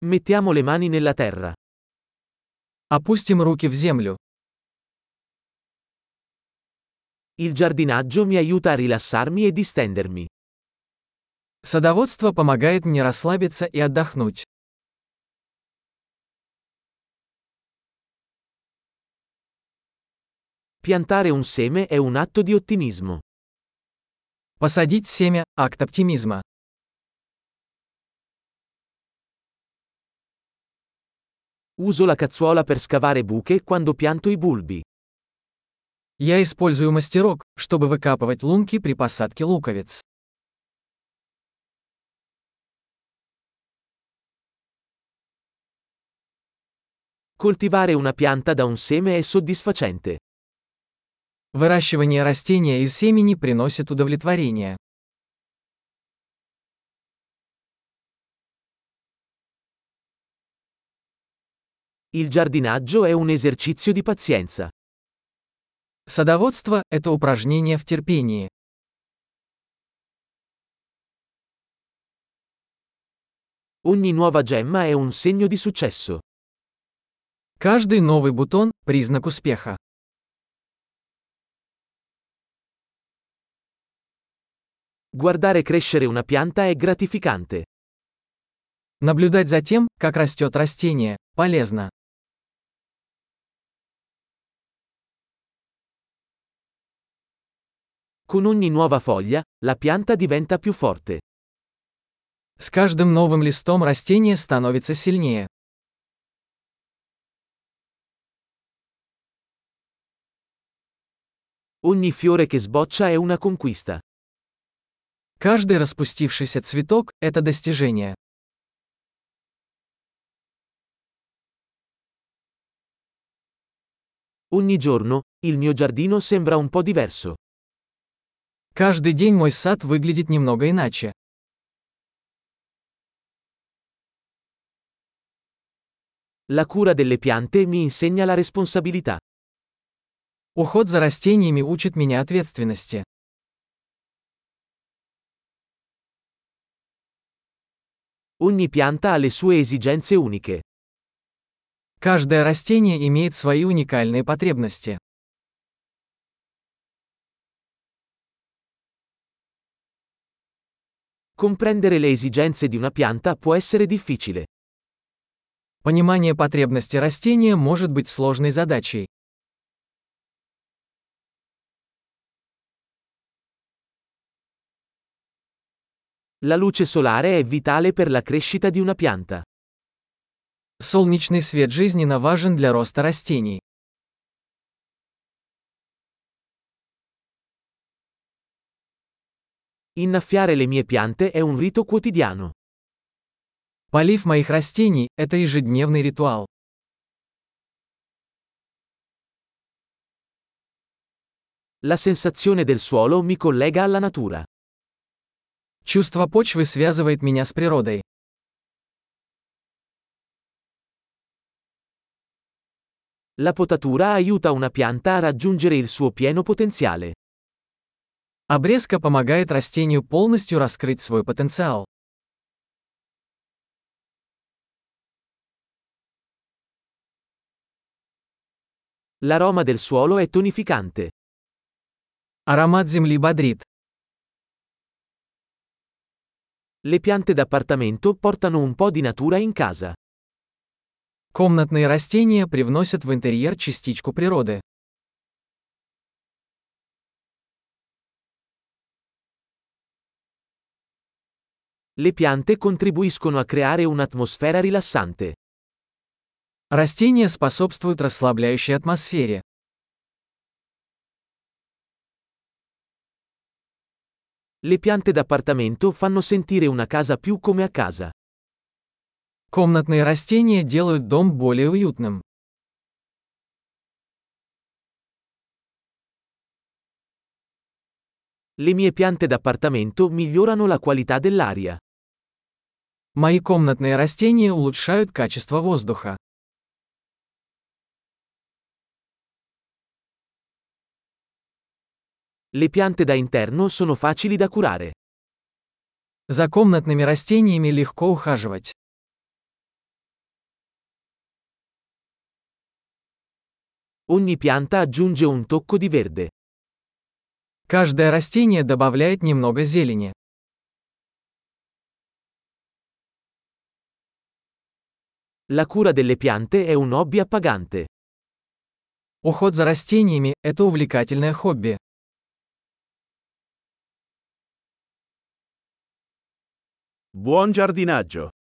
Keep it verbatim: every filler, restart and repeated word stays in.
Mettiamo le mani nella terra. Опустим руки в землю. Il giardinaggio mi aiuta a rilassarmi e distendermi. Садоводство помогает мне расслабиться и отдохнуть. Piantare un seme è un atto di ottimismo. Посадить семя – акт оптимизма. Uso la cazzuola per scavare buche quando pianto i bulbi. Я использую мастерок, чтобы выкапывать лунки при посадке луковиц. Coltivare una pianta da un seme è soddisfacente. Выращивание растения из семени приносит удовлетворение. Il giardinaggio è un esercizio di pazienza. Садоводство – это упражнение в терпении. Ogni nuova gemma è un segno di successo. Каждый новый бутон – признак успеха. Guardare crescere una pianta è gratificante. Наблюдать за тем, как растет растение, полезно. Con ogni nuova foglia, la pianta diventa più forte. С каждым новым листом растение становится сильнее. Ogni fiore che sboccia è una conquista. Каждый распустившийся цветок – это достижение. Ogni giorno, il mio giardino sembra un po' diverso. Каждый день мой сад выглядит немного иначе. La cura delle piante mi insegna la responsabilità. Уход за растениями учит меня ответственности. Ogni pianta ha le sue esigenze uniche. Каждое растение имеет свои уникальные потребности. Comprendere le esigenze di una pianta può essere difficile. Понимание потребностей растения может быть сложной задачей. La luce solare è vitale per la crescita di una pianta. Солнечный свет жизненно важен для роста растений. Innaffiare le mie piante è un rito quotidiano. Полив моих растений – это ежедневный ритуал. La sensazione del suolo mi collega alla natura. Чувство почвы связывает меня с природой. La potatura aiuta una pianta a raggiungere il suo pieno potenziale. Обрезка помогает растению полностью раскрыть свой потенциал. L'aroma del suolo è tonificante. Аромат земли бодрит. Le piante d'appartamento portano un po' di natura in casa. Комнатные растения привносят в интерьер частичку природы. Le piante contribuiscono a creare un'atmosfera rilassante. Растения способствуют расслабляющей атмосфере. Le piante d'appartamento fanno sentire una casa più come a casa. Комнатные растения делают дом более уютным. Le mie piante d'appartamento migliorano la qualità dell'aria. Мои комнатные растения улучшают качество воздуха. Le piante da interno sono facili da curare. За комнатными растениями легко ухаживать. Ogni pianta aggiunge un tocco di verde. Каждое растение добавляет немного зелени. La cura delle piante è un hobby appagante. Уход за растениями – это увлекательное хобби. Buon giardinaggio!